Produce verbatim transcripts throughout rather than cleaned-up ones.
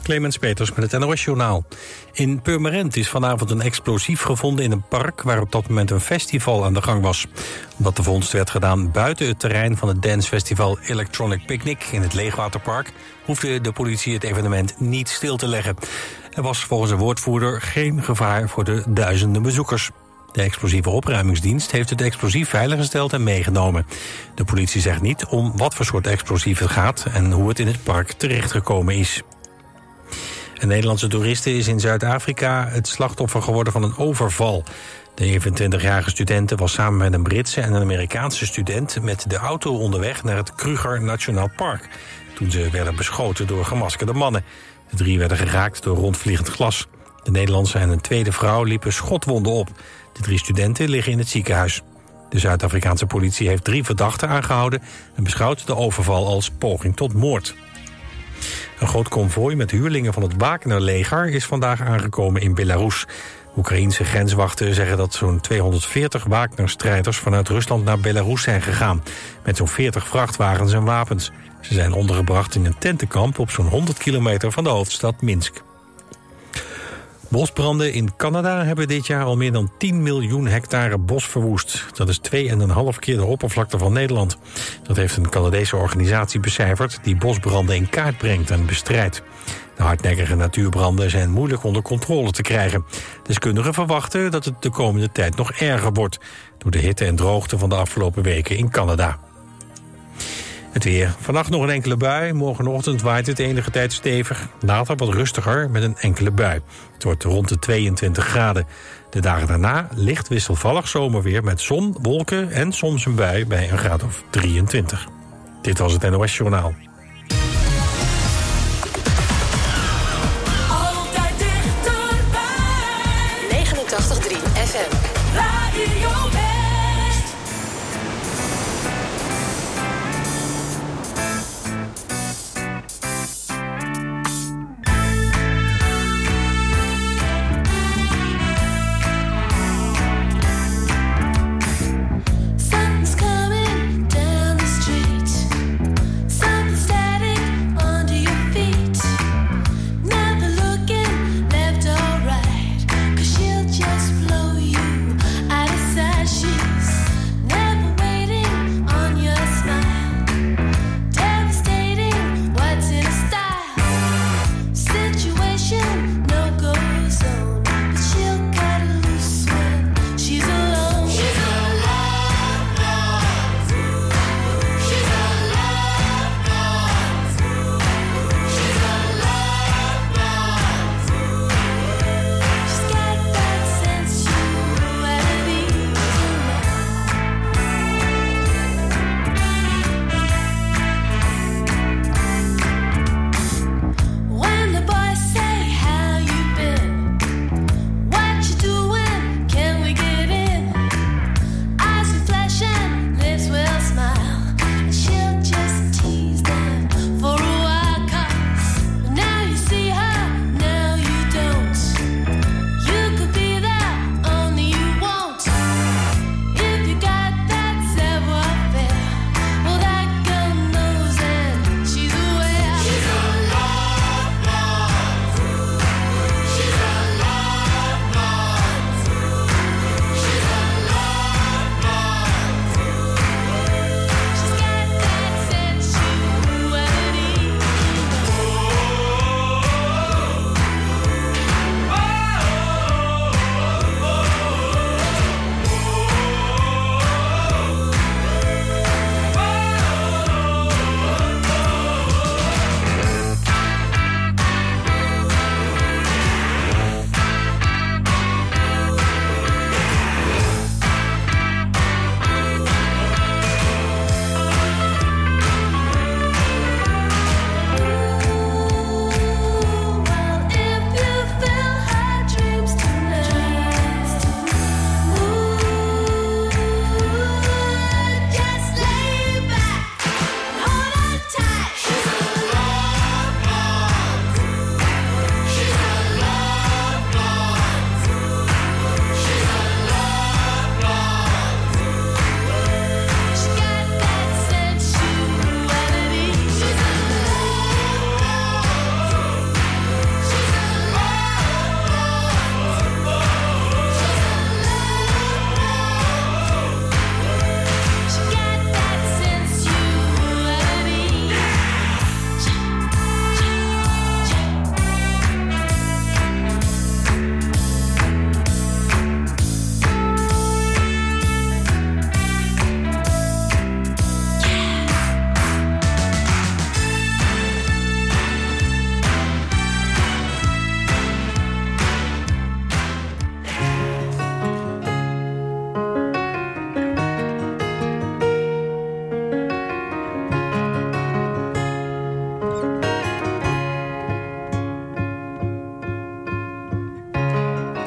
Clemens Peters met het N O S-journaal. In Purmerend is vanavond een explosief gevonden in een park waar op dat moment een festival aan de gang was. Omdat de vondst werd gedaan buiten het terrein van het dancefestival Electronic Picnic in het Leegwaterpark, hoefde de politie het evenement niet stil te leggen. Er was volgens een woordvoerder geen gevaar voor de duizenden bezoekers. De explosieve opruimingsdienst heeft het explosief veiliggesteld en meegenomen. De politie zegt niet om wat voor soort explosief het gaat en hoe het in het park terechtgekomen is. Een Nederlandse toeriste is in Zuid-Afrika het slachtoffer geworden van een overval. De eenentwintigjarige studente was samen met een Britse en een Amerikaanse student met de auto onderweg naar het Kruger Nationaal Park, toen ze werden beschoten door gemaskerde mannen. De drie werden geraakt door rondvliegend glas. De Nederlandse en een tweede vrouw liepen schotwonden op. De drie studenten liggen in het ziekenhuis. De Zuid-Afrikaanse politie heeft drie verdachten aangehouden en beschouwt de overval als poging tot moord. Een groot konvooi met huurlingen van het Wagner-leger is vandaag aangekomen in Belarus. Oekraïense grenswachten zeggen dat zo'n tweehonderdveertig Wagner-strijders vanuit Rusland naar Belarus zijn gegaan, met zo'n veertig vrachtwagens en wapens. Ze zijn ondergebracht in een tentenkamp op zo'n honderd kilometer van de hoofdstad Minsk. Bosbranden in Canada hebben dit jaar al meer dan tien miljoen hectare bos verwoest. Dat is twee en een half keer de oppervlakte van Nederland. Dat heeft een Canadese organisatie becijferd die bosbranden in kaart brengt en bestrijdt. De hardnekkige natuurbranden zijn moeilijk onder controle te krijgen. Deskundigen verwachten dat het de komende tijd nog erger wordt door de hitte en droogte van de afgelopen weken in Canada. Het weer. Vannacht nog een enkele bui. Morgenochtend waait het enige tijd stevig. Later wat rustiger met een enkele bui. Het wordt rond de tweeëntwintig graden. De dagen daarna licht wisselvallig zomerweer met zon, wolken en soms een bui bij een graad of drieëntwintig. Dit was het N O S-journaal. Altijd dichterbij. negenentachtig komma drie F M. Radio just blow you out of sight.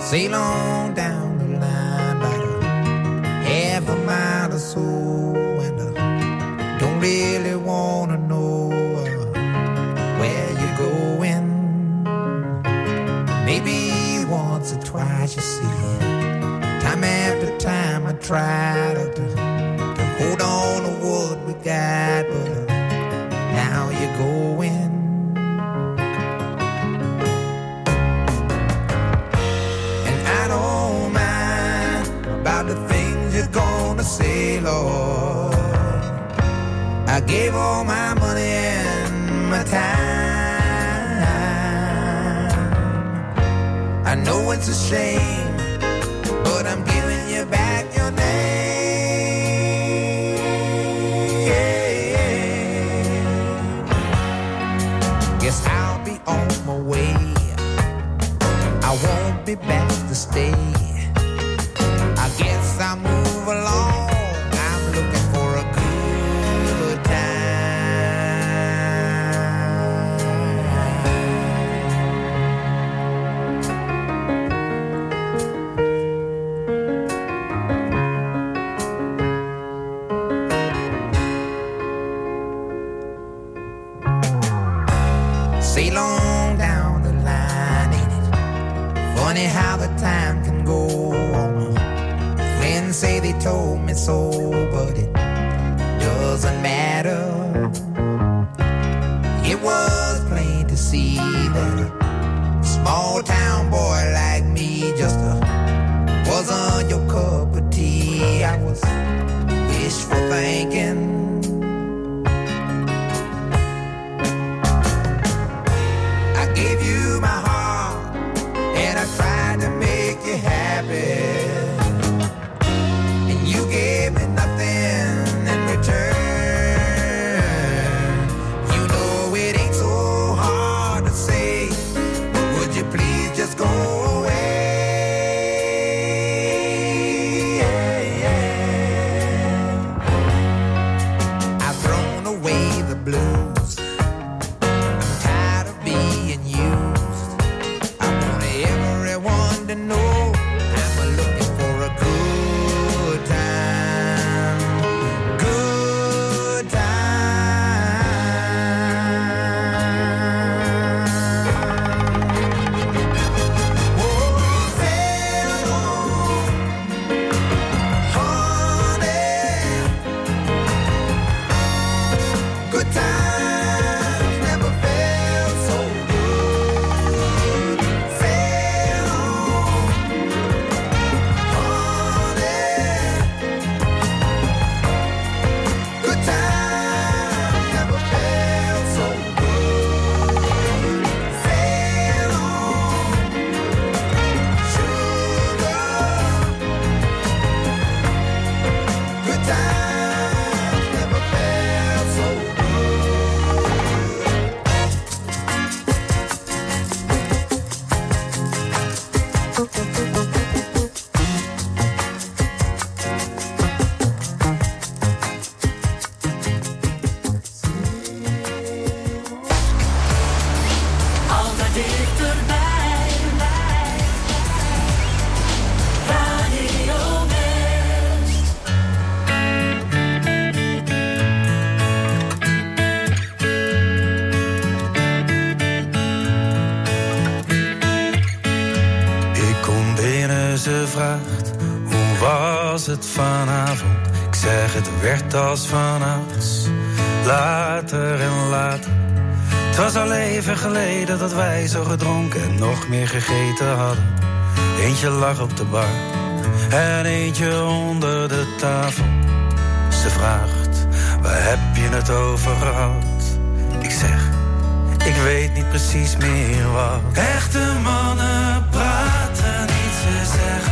sail on down the line about a half a mile or so, and I don't really wanna know uh, where you're going. Maybe once or twice, you see. Time after time I try to, to, to hold on to what we got, but uh, now you're going. And I don't mind about the things you're gonna say, Lord. I gave all my money and my time. I know it's a shame, but I'm giving you back your name. Guess I'll be on my way. I won't be back to stay. I guess I'll move along. I'm looking for a good sail on down the line, ain't it funny how the time can go on? Friends say they told me so, but it doesn't matter. It was plain to see that a small town boy like me just uh, wasn't your cup of tea. I was wishful thinking. Gave you my heart, and I tried to make you happy, and you gave me nothing in return. You know it ain't so hard to say, but would you please just go away? I've thrown away the blues. To know I'm looking for a good time, good time. Oh, sail on, honey, good times never felt so good. Sail het vanavond? Ik zeg het werd als vanouds, later en later. Het was al even geleden dat wij zo gedronken en nog meer gegeten hadden. Eentje lag op de bar en eentje onder de tafel. Ze vraagt, waar heb je het over gehad? Ik zeg, ik weet niet precies meer wat. Echte mannen praten niet, ze zeggen.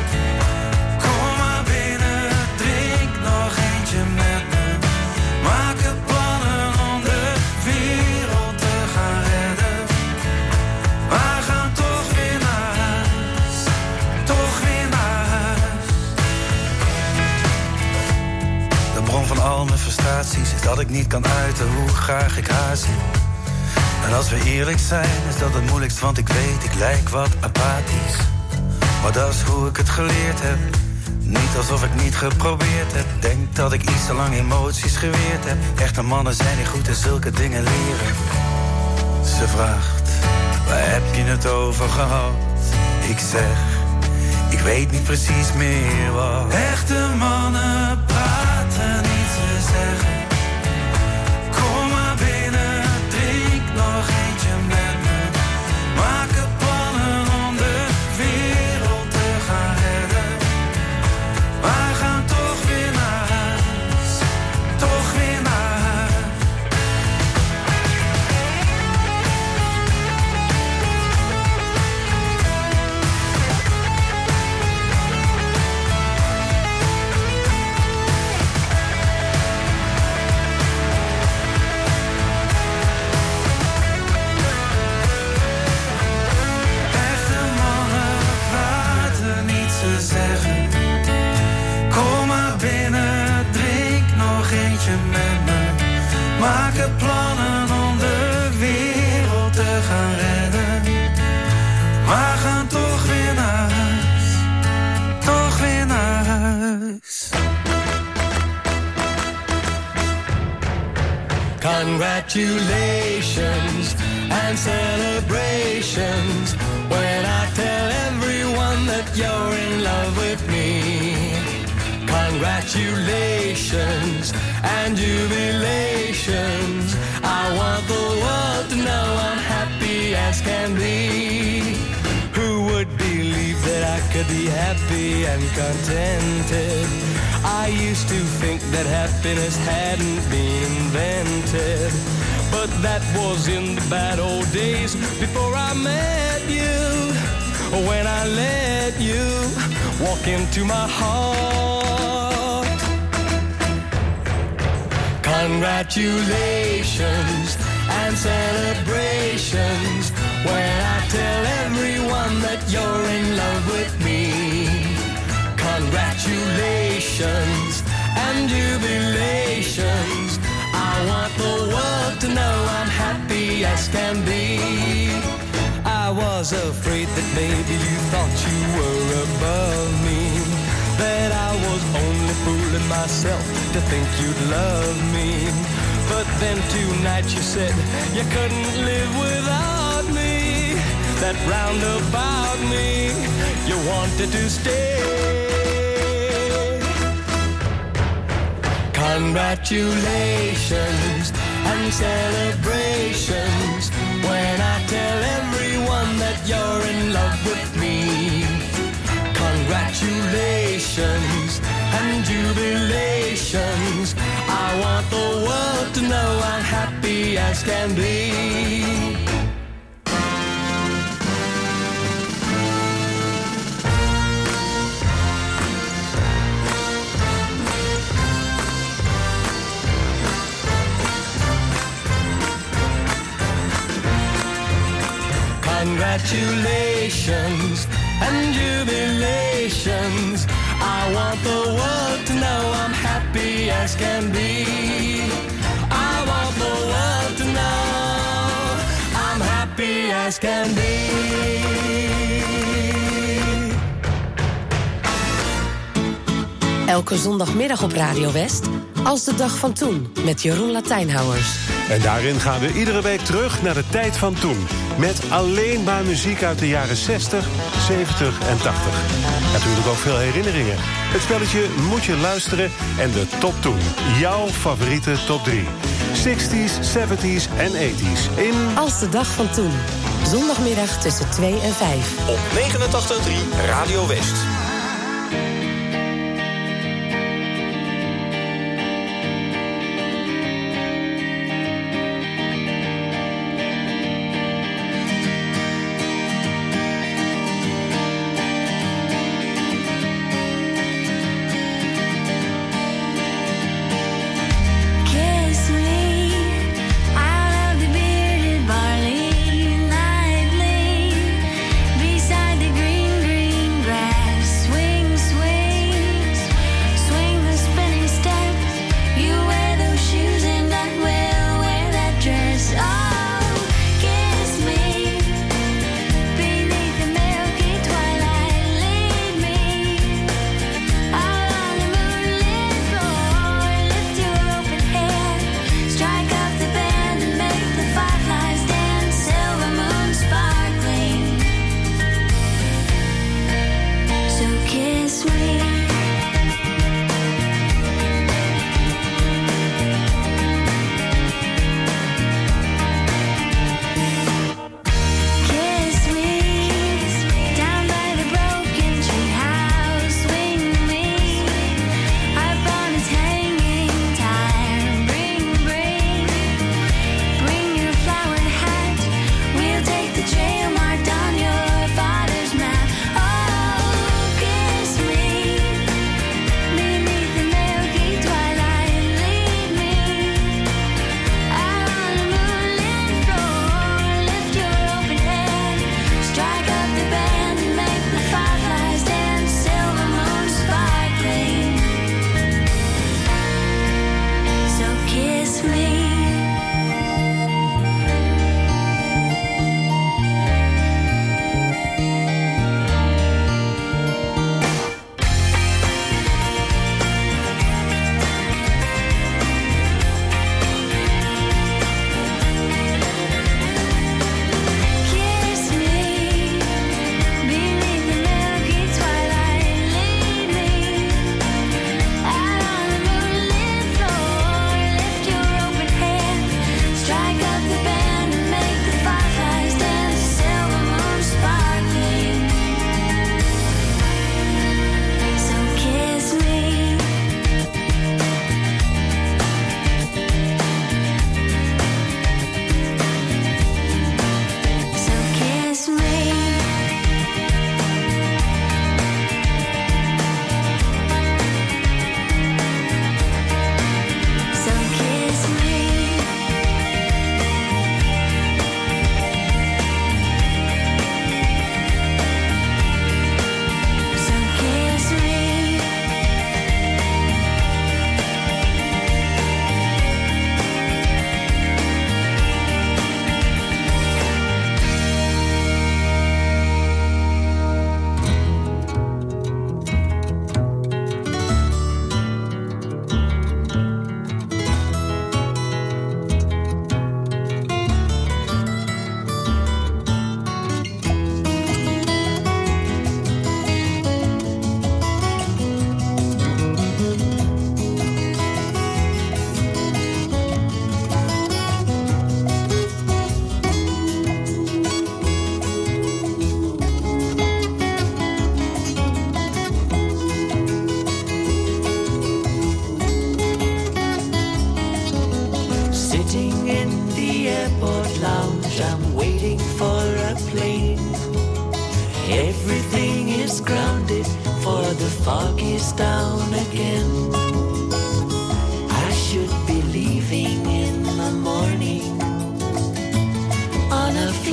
Al mijn frustraties is dat ik niet kan uiten hoe graag ik haar zie. En als we eerlijk zijn is dat het moeilijkst, want ik weet ik lijk wat apathisch. maar dat is hoe ik het geleerd heb. Niet alsof ik niet geprobeerd heb. Denk dat ik iets te lang emoties geweerd heb. Echte mannen zijn niet goed in zulke dingen leren. Ze vraagt, waar heb je het over gehad? Ik zeg, ik weet niet precies meer wat. Echte mannen praten, niet te zeggen. Kom maar binnen, drink nog eentje met me. Maken plannen om de wereld te gaan redden. Maar gaan toch weer naar huis, toch weer naar huis. Echte mannen praten, niet te zeggen. Kom maar binnen, drink nog eentje met me. Maken plannen om de wereld te gaan redden. Maar gaan toch weer naar huis, toch weer naar huis. Congratulations and celebrations when I tell everyone that you're in love with me. Congratulations and jubilations. I want the world to know I'm happy as can be. Who would believe that I could be happy and contented? I used to think that happiness hadn't been invented, but that was in the bad old days before I met you. When I let you walk into my heart. Congratulations and celebrations when I tell everyone that you're in love with me. Congratulations and jubilations. I want the world to know I'm happy as can be. I was afraid that maybe you thought you were above me, that I was only fooling myself to think you'd love me. But then tonight you said you couldn't live without me, that round about me you wanted to stay. Congratulations and celebrations when I tell everyone that you're in love with me. Congratulations and jubilations. I want the world to know I'm happy as can be. Congratulations and jubilations. I want the world to know I'm happy as can be. I want the world to know I'm happy as can be. Elke zondagmiddag op Radio West, Als de dag van toen, met Jeroen Latijnhouwers. En daarin gaan we iedere week terug naar de tijd van toen. Met alleen maar muziek uit de jaren zestig, zeventig en tachtig. Natuurlijk ook veel herinneringen. Het spelletje Moet je luisteren en de top toen. Jouw favoriete top drie. zestig's, zeventig's en tachtig's in... Als de dag van toen. Zondagmiddag tussen twee en vijf. Op negenentachtig komma drie Radio West. Beside the green, green grass, swing, swing.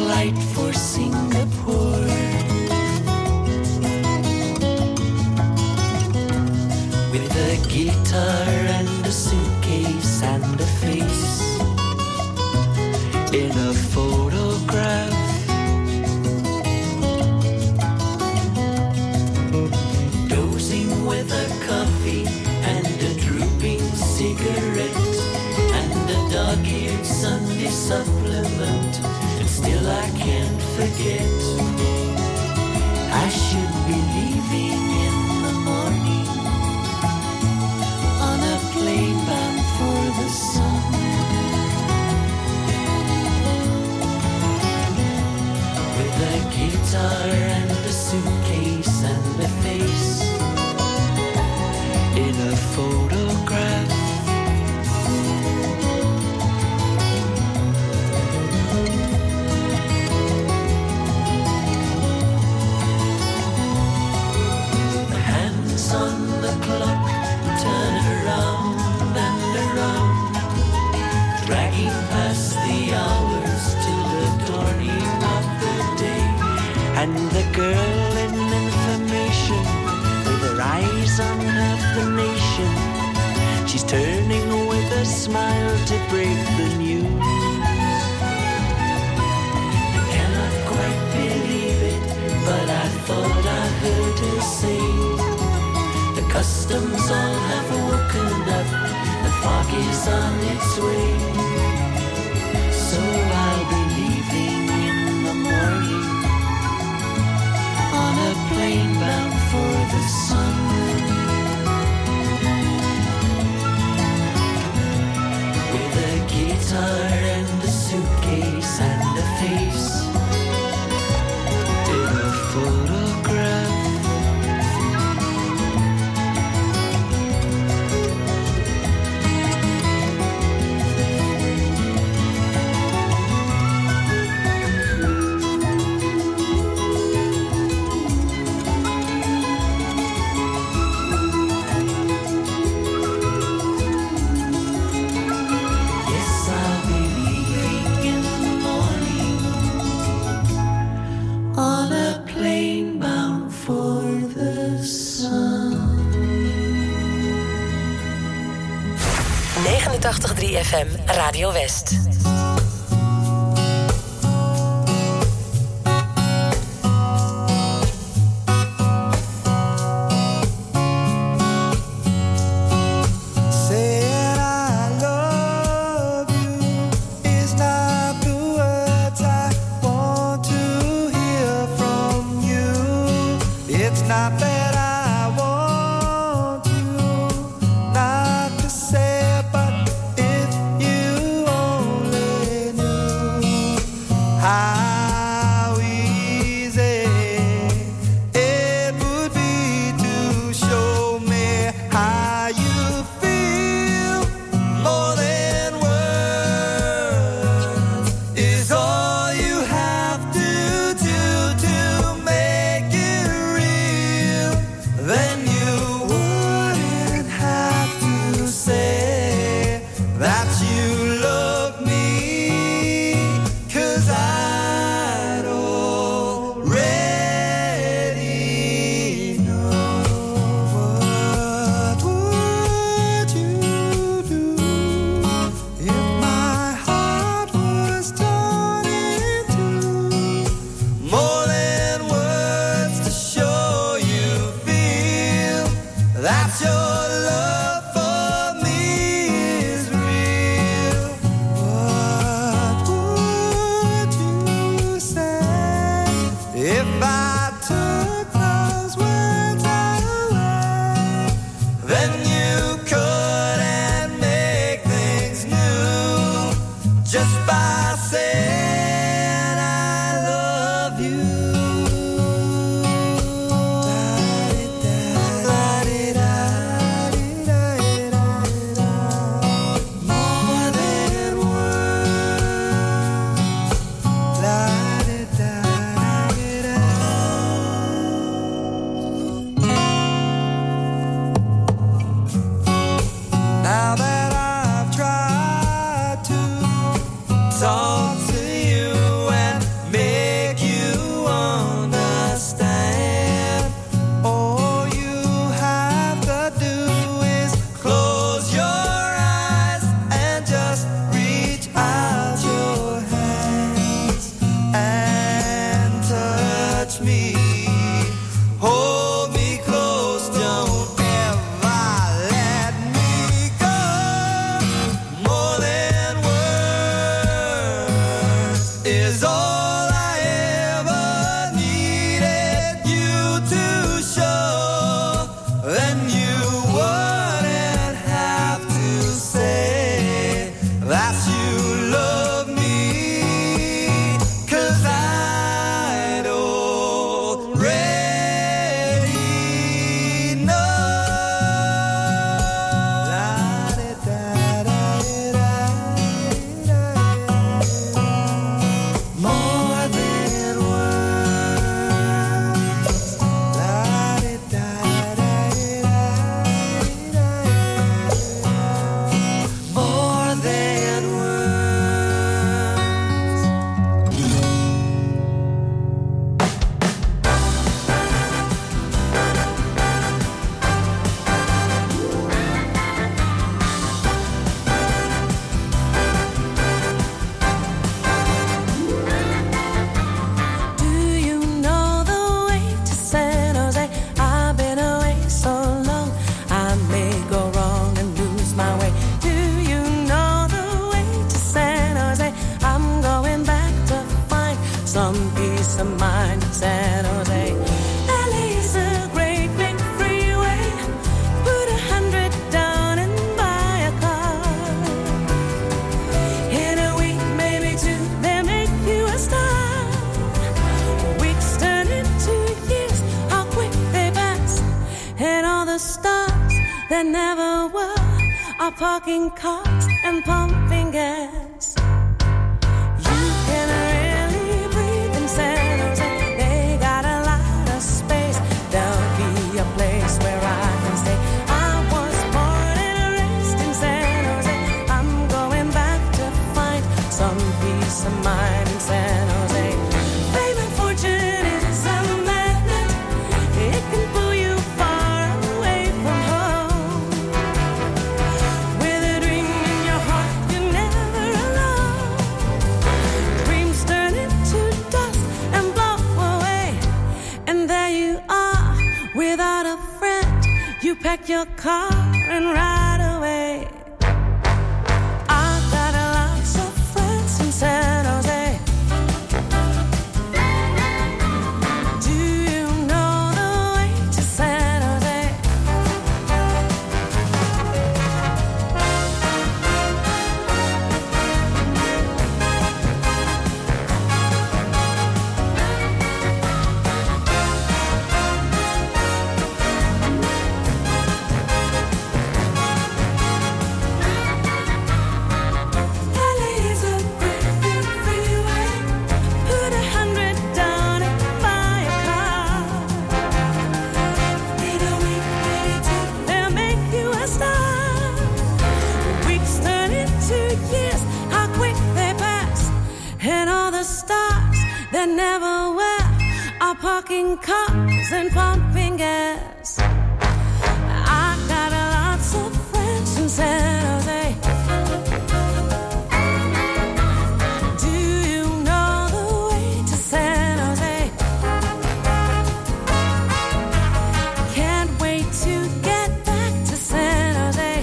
flight for Singapore. With a guitar and a suitcase and a face in a photograph. Dozing with a coffee and a drooping cigarette and a dog-eared Sunday supplement, and still I can't forget. I should be leaving in the morning on a plane bound for the sun. With a guitar and a suitcase and a face in a photograph. The hands on the clock turn around and around, dragging past the hours till the dawning of the day. And the girl in information, with her eyes on half the nation, she's turning with a smile to break the news. I cannot quite believe it, but I thought I heard her say, the customs all have woken up, the fog is on its way. So I'll be leaving in the morning on a plane bound for the sun. With a guitar and a suitcase and a face in a photograph. negenentachtig komma drie F M Radio West. All you have to do to make it real. peace of mind in San Jose. L A is a great big freeway. Put a hundred down and buy a car. In a week, maybe two, they make you a star. Weeks turn into years, how quick they pass. And all the stars that never were are parking cars and pumping gas. You can really breathe in San Jose. They got a lot of space. There'll be a place where I can stay. I was born and raised in San Jose. I'm going back to find some peace of mind in San Jose. Fame and fortune is a magnet. It can pull you far away from home. With a dream in your heart, you're never alone. Dreams turn into dust and blow away. And there you are, without a friend. You pack your car and ride away. I've got lots of friends in San Jose. Do you know the way to San Jose? L A is a great big freeway. Put a hundred down and buy a car. In a week, maybe two, they'll make you a star. Weeks turn into years, how quick they pass. And all the stars that never were are parking cars and pumping gas. I got lots of friends in San Jose. Do you know the way to San Jose? Can't wait to get back to San Jose.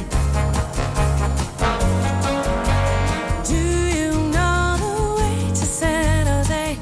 Do you know the way to San Jose?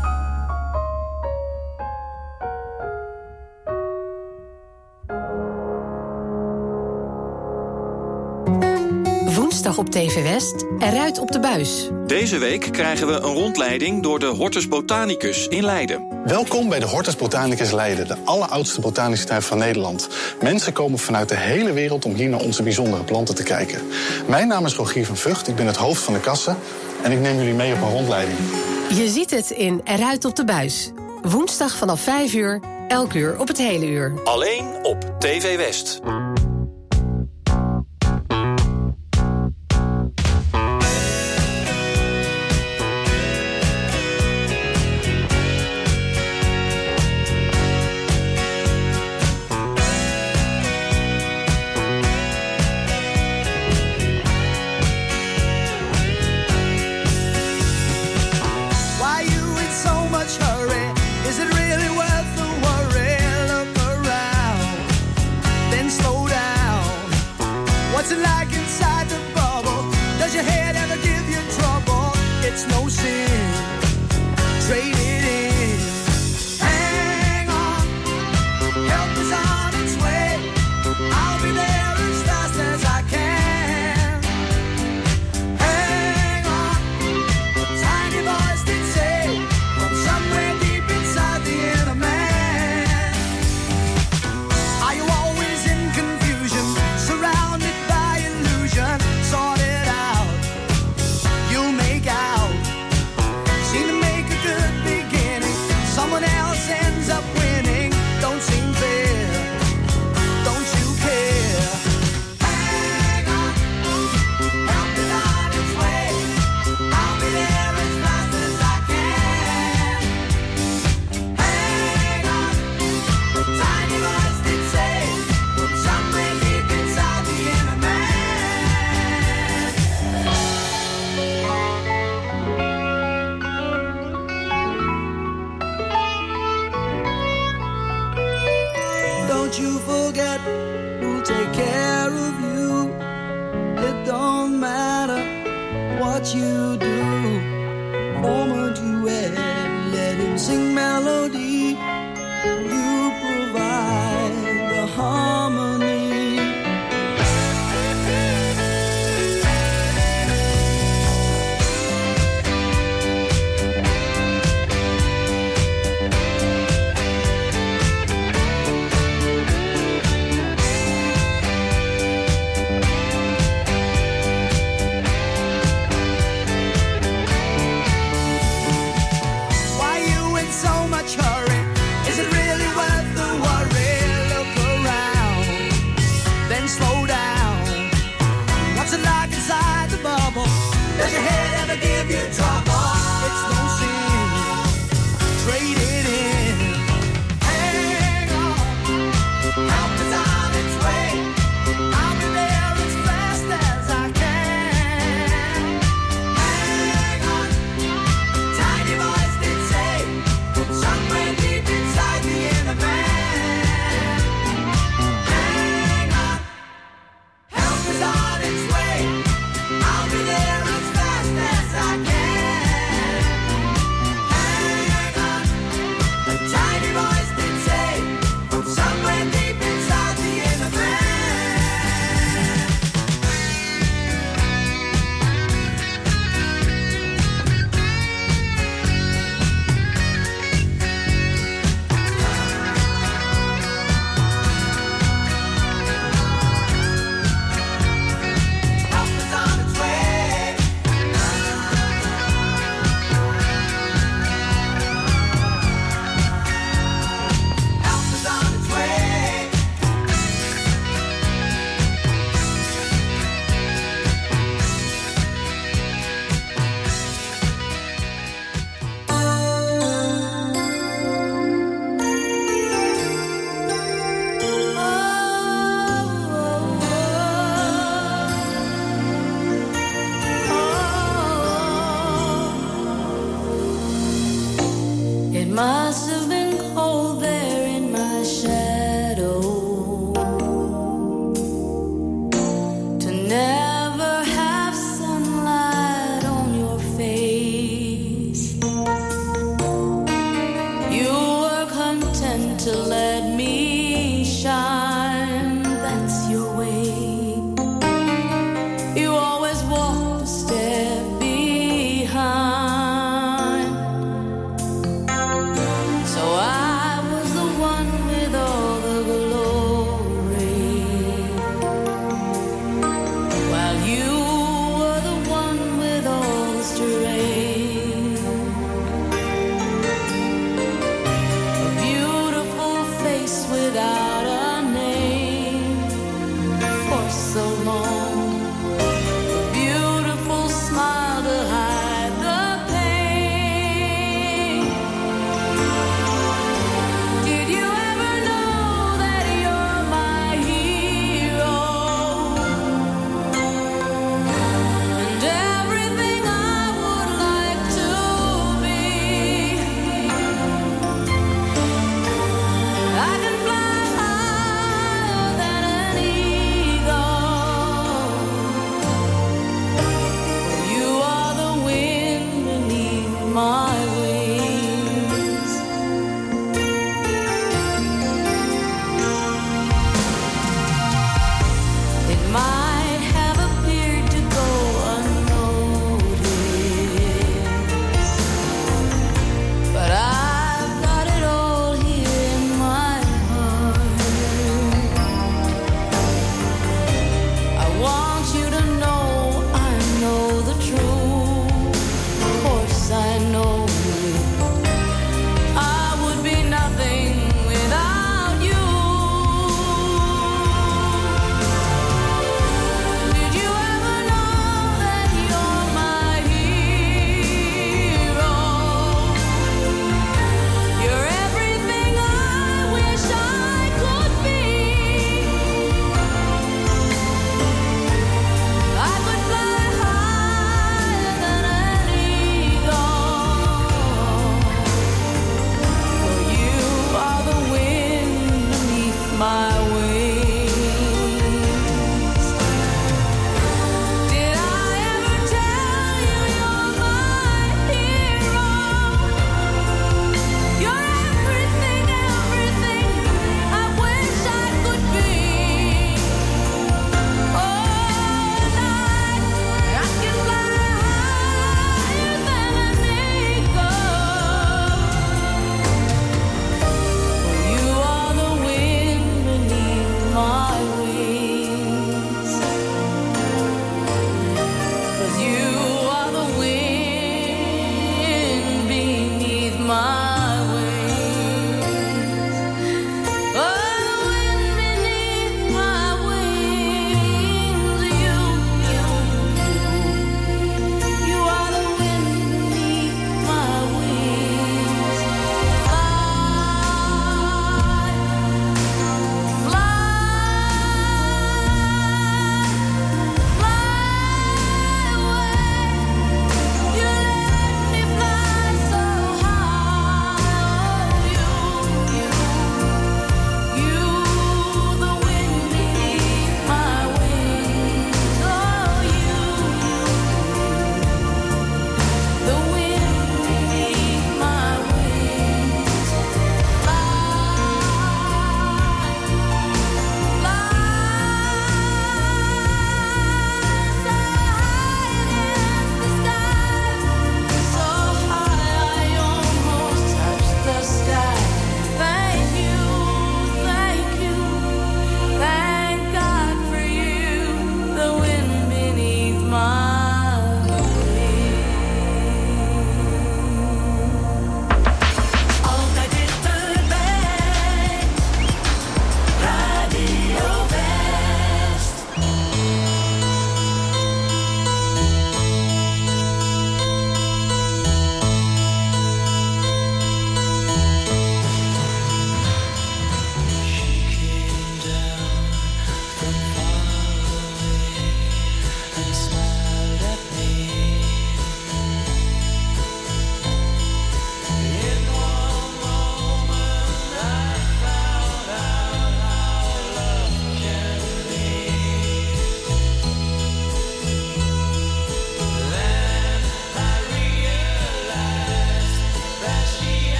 Woensdag op T V West, eruit op de buis. Deze week krijgen we een rondleiding door de Hortus Botanicus in Leiden. Welkom bij de Hortus Botanicus Leiden, de alleroudste botanische tuin van Nederland. Mensen komen vanuit de hele wereld om hier naar onze bijzondere planten te kijken. Mijn naam is Rogier van Vught, ik ben het hoofd van de kasse en ik neem jullie mee op een rondleiding. Je ziet het in Eruit op de buis. Woensdag vanaf vijf uur, elk uur op het hele uur. Alleen op T V West. Why you in so much hurry? Is it really worth the worry? Look around, then slow down. What's it like inside the bubble? Does your head ever give you trouble? It's no sin, trade it in. Hang on, help is on its way. I'll be there as fast as I can. Hang on, tiny voice did say, from somewhere deep inside the inner man. Are you always in confusion, surrounded by illusion? Sort it out, you'll make out. Seem to make a good beginning, someone else ends up winning. Don't seem fair, don't you care? Hang on, help is on its way. I'll be there as fast as I can. Hang on, tiny voice did say, from somewhere deep inside the inner man. Don't you forget who'll take care of you. It don't matter what you do. Moment you had, let sing melody. You provide the harmony. Does your head ever give you trouble? It's no sin. Trade it in. Hang on. Help is on its way. I'll be there as fast as I can. Hang on. Tiny voice did say from somewhere deep inside the inner man. Hang on. Help is on its way. I'll be there as fast as I can. Hang on. A tiny voice did say from somewhere deep inside the inner man. Help is on its way. Help is on its way. It must have been cold there in my shadow to never have sunlight on your face. You were content to let me shine, that's your way. You always walked a step behind. So I was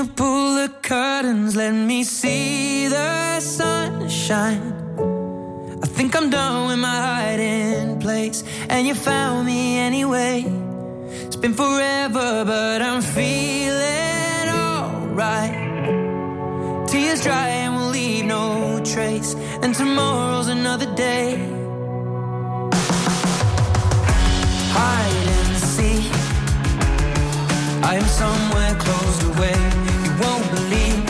you pull the curtains, let me see the sunshine. I think I'm done with my hiding place, and you found me anyway. It's been forever, but I'm feeling alright. Tears dry and we'll leave no trace, and tomorrow's another day. Hide and seek, I am somewhere closed away. You won't believe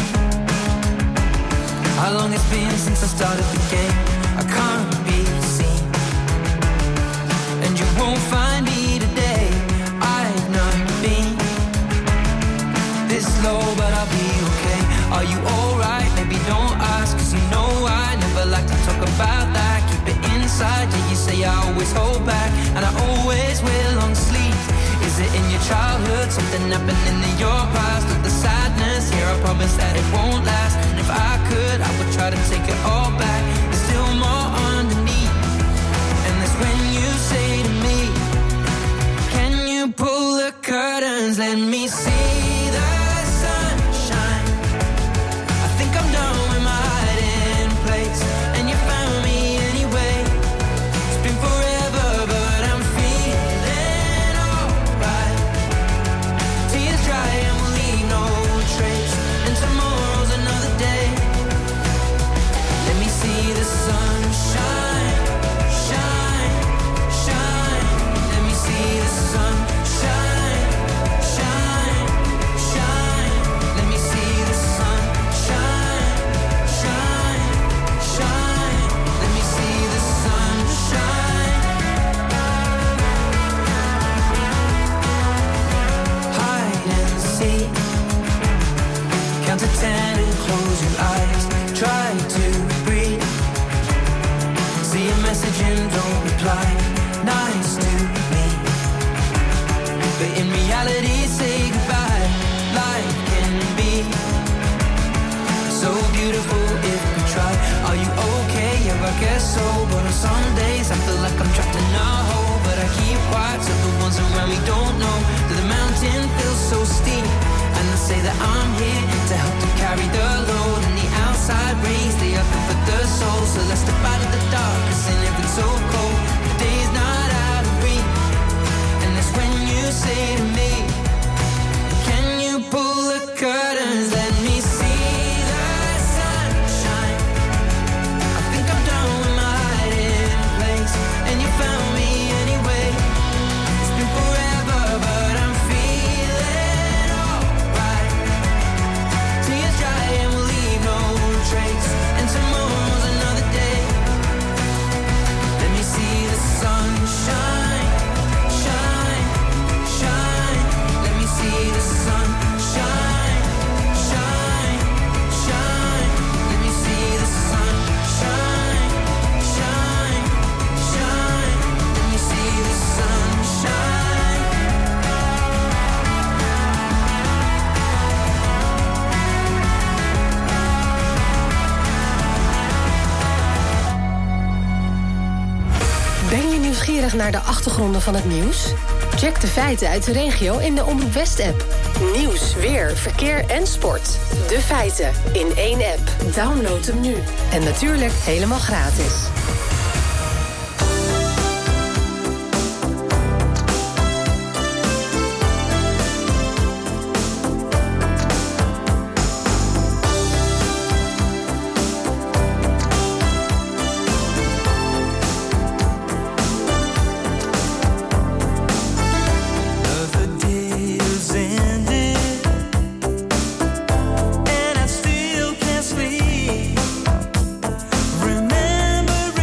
how long it's been since I started the game. I can't be seen, and you won't find me today. I've not been this low, but I'll be okay. Are you alright? Maybe don't ask, cause you know I never like to talk about that. Keep it inside, yeah, you say I always hold back, and I always wear long sleeves. Is it in your childhood, something happening in your past? Or the sadness, here I promise that it won't last. And if I could, I would try to take it all back. There's still more underneath, and that's when you say to me, can you pull the curtains, let me see the sunshine. I think I'm done with my hiding place, and you found me anyway. It's been forever, but I'm feeling alright. Tears dry and we'll leave no trace, and tomorrow's another day. Let me see the sunshine, shine, shine. Let me see the sunshine, shine, shine. Let me see the sunshine, shine, shine. Let me see the sunshine. Hide and seek, count to ten and close your eyes. Try to breathe, see a message and don't reply. Nice to me, but in reality say goodbye. Life can be so beautiful if we try. Are you okay? Yeah, I guess so. But on some days I feel like I'm trapped in a hole, but I keep quiet so the ones around me don't know that the mountain feels so steep. And I say that I'm here to help to carry the load, and the outside rays, they are good for the soul. So let's step out of the dark, cause in it it's so cold. The day's not out of reach, and that's when you say to me, can you pull the curtains, let me see the sunshine. I think I'm done with my hiding place, and you found me anyway. It's been forever, but I'm feeling alright. Tears dry and we'll leave no trace, and tomorrow's another day. Let me see the sunshine, shine, shine. Let me see the sunshine, shine, shine. Let me see the sunshine, shine, shine. Let me see the sunshine. Ben je nieuwsgierig naar de achtergronden van het nieuws? Check de feiten uit de regio in de Omroep West-app. Nieuws, weer, verkeer en sport. De feiten in één app. Download hem nu. En natuurlijk helemaal gratis. Another day is ended, and I still can't sleep. Remembering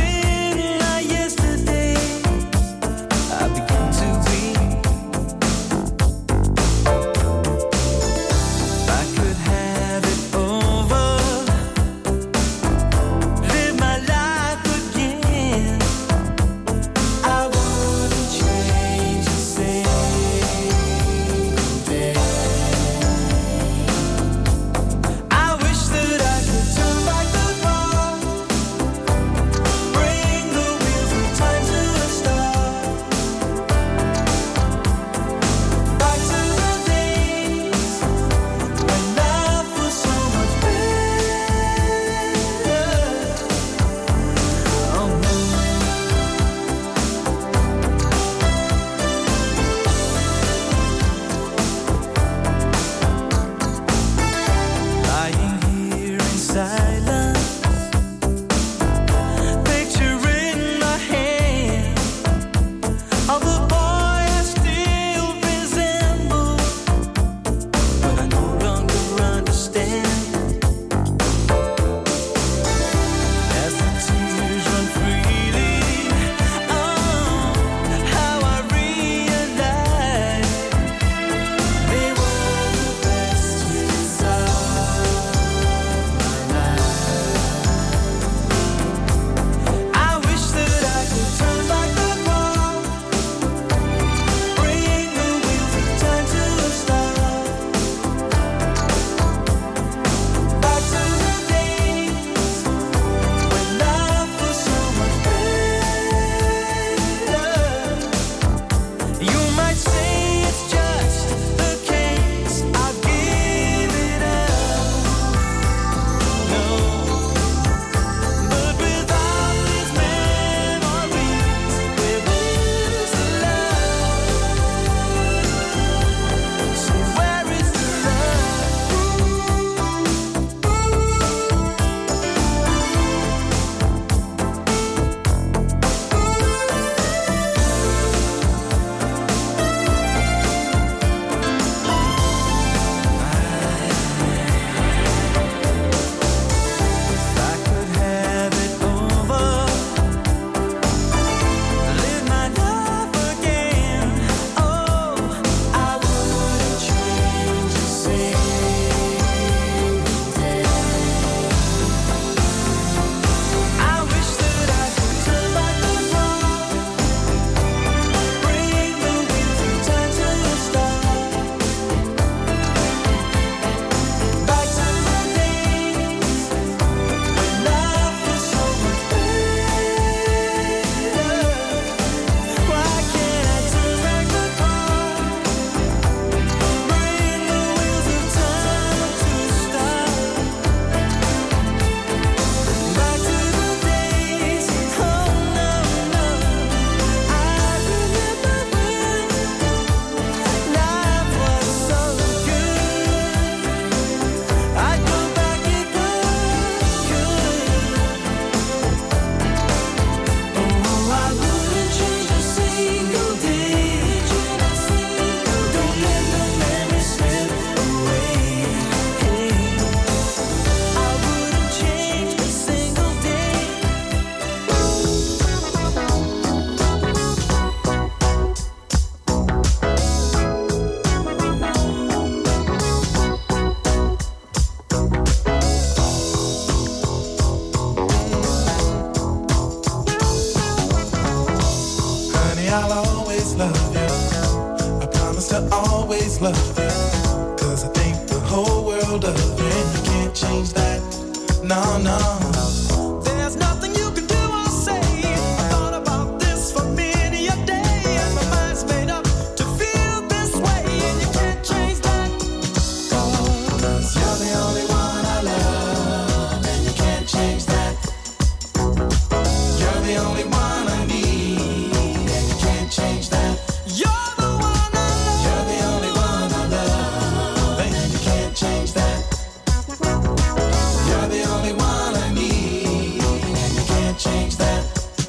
just love you. Cause I think the whole world of you, and you can't change that. No, no. There's nothing you can do or say. I thought about this for many a day, and my mind's made up to feel this way, and you can't change that. Cause you're the only one I love, and you can't change that. You're the only one I need, and you can't change that. You're the one I love. You're the only one I love, and you can't change that. You're the only one I need, and you can't change that.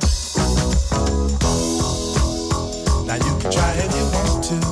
Now you can try if you want to.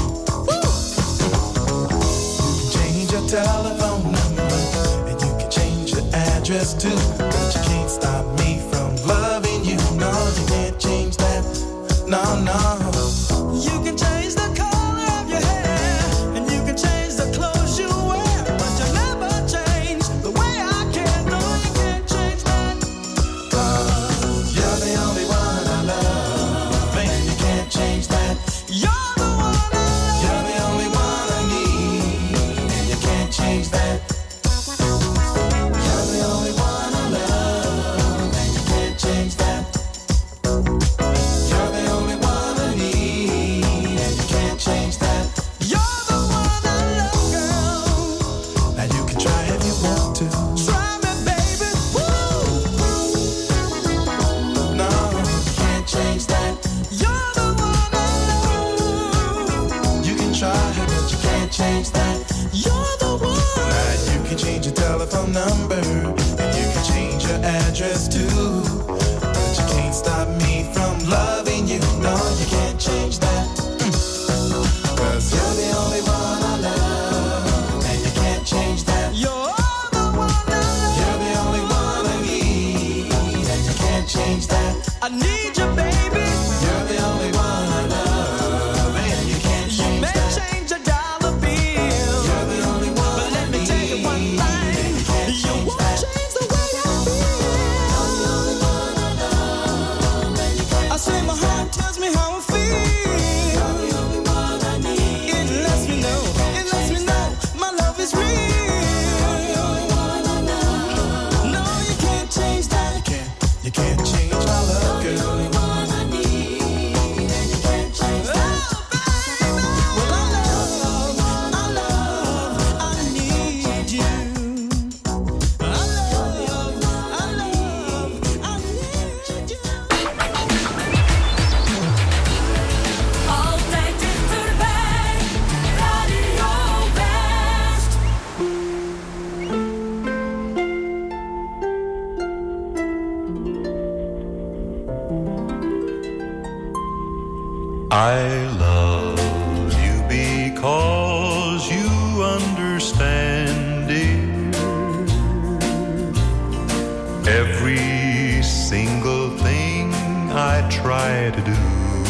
You can change your telephone number, and you can change your address too. But you can't stop me from loving you. No, you can't change that. No, no. You can change the color of your hair, and you can change the clothes you wear, but you never change the way I care. No, you can't change that. Cause you're the only one I love, and you can't change that. You're the one I love. You're the only one I need, and you can't change that. You're the only one I love, and you can't change that. You're the only one I need, and you can't change that. You're the one I love, girl. Now you can try if you want to. Try me, baby. Woo! No, you can't change that. You're the one I love. You can try, but you can't change that. You're the one. Now you can change your telephone number, and you can change your address too. But you can't stop me from loving you. No, you can't change that. Cause you're the only one I love, and you can't change that. You're the one I love. You're the only one I need, and you can't change that. I need you, baby. You're the only one I love, and you can't change that. You may change a dollar bill. You're the only one. But let me tell you one thing. You won't change the way I feel. You're the only one I love, and you can't. I say my heart tells me how I feel. You're the only one I need. It lets me know. It lets me know my love is real. You're the only one I love. No, you can't change that. You can't. You can't change my love, girl. You're the only one I need, and you can't change that. Well, I love, I love, I need you. I love, I love, I need you. Altijd dichterbij, Radio West. I love you because you understand, dear, every single thing I try to do.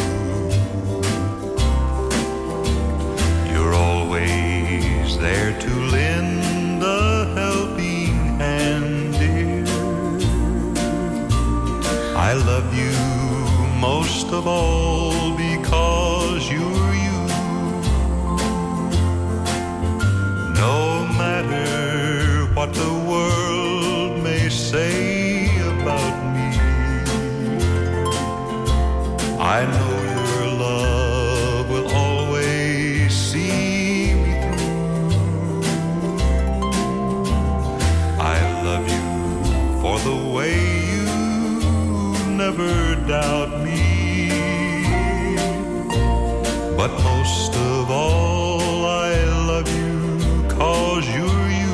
You're always there to lend a helping hand, dear. I love you most of all because you're you. No matter what the world may say about me, I know your love will always see me through. I love you for the way you never doubt me. But most of all, I love you 'cause you're you.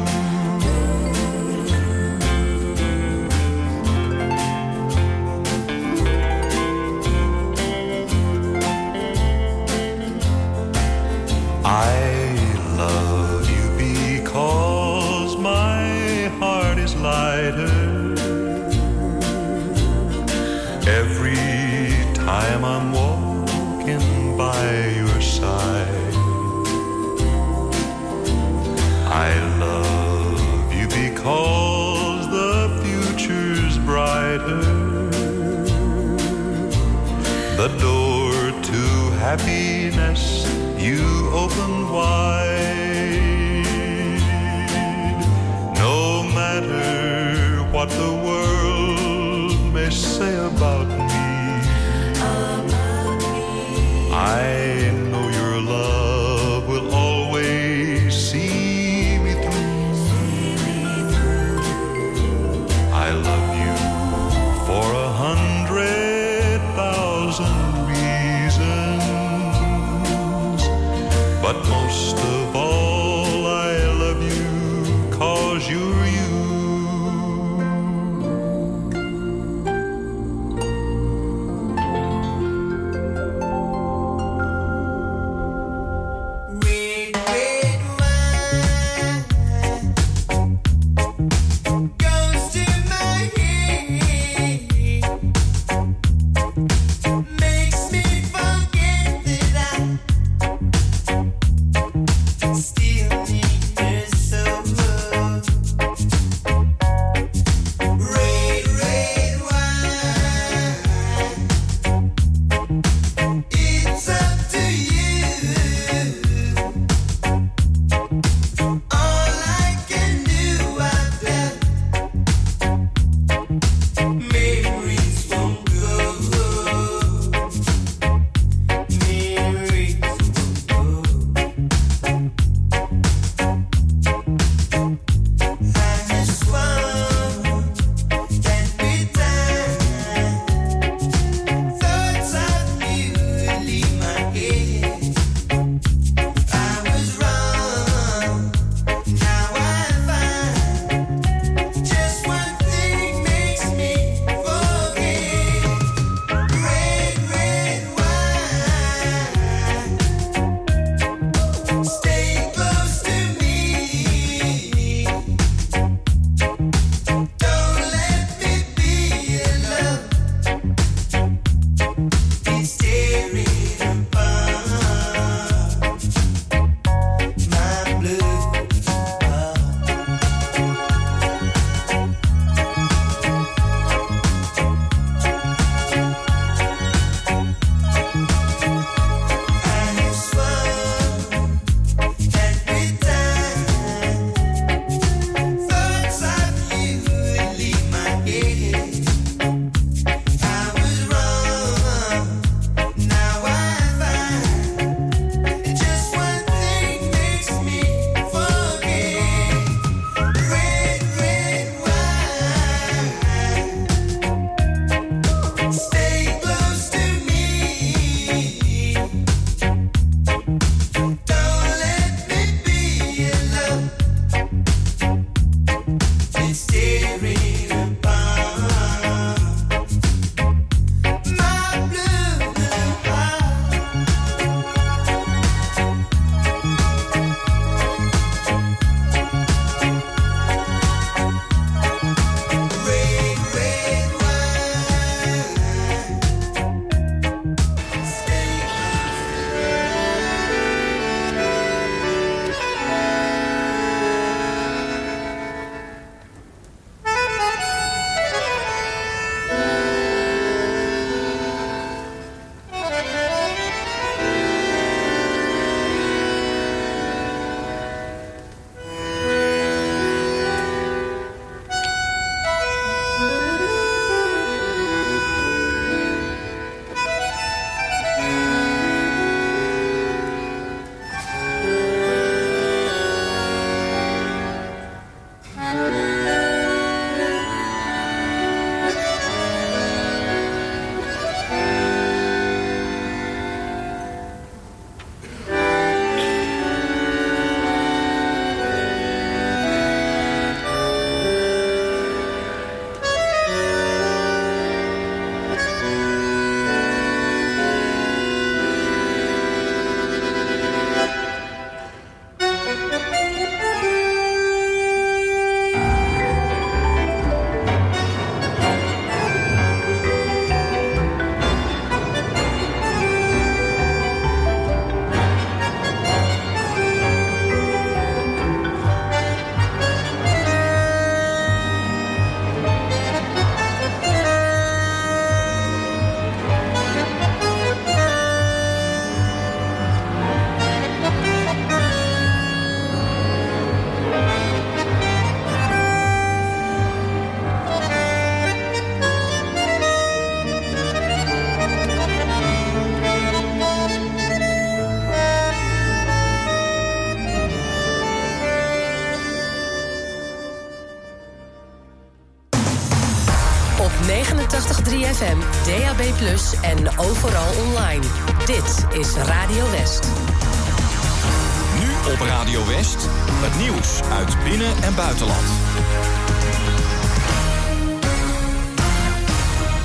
I love you because my heart is lighter every time I'm walking by your side. I love you because the future's brighter. The door to happiness you open wide. No matter what the world may say about me, I know your love will always see me through. I love you for a hundred thousand reasons, but most of all I love you 'cause you're you. tachtig komma drie F M, D A B plus, en overal online. Dit is Radio West. Nu op Radio West, het nieuws uit binnen- en buitenland.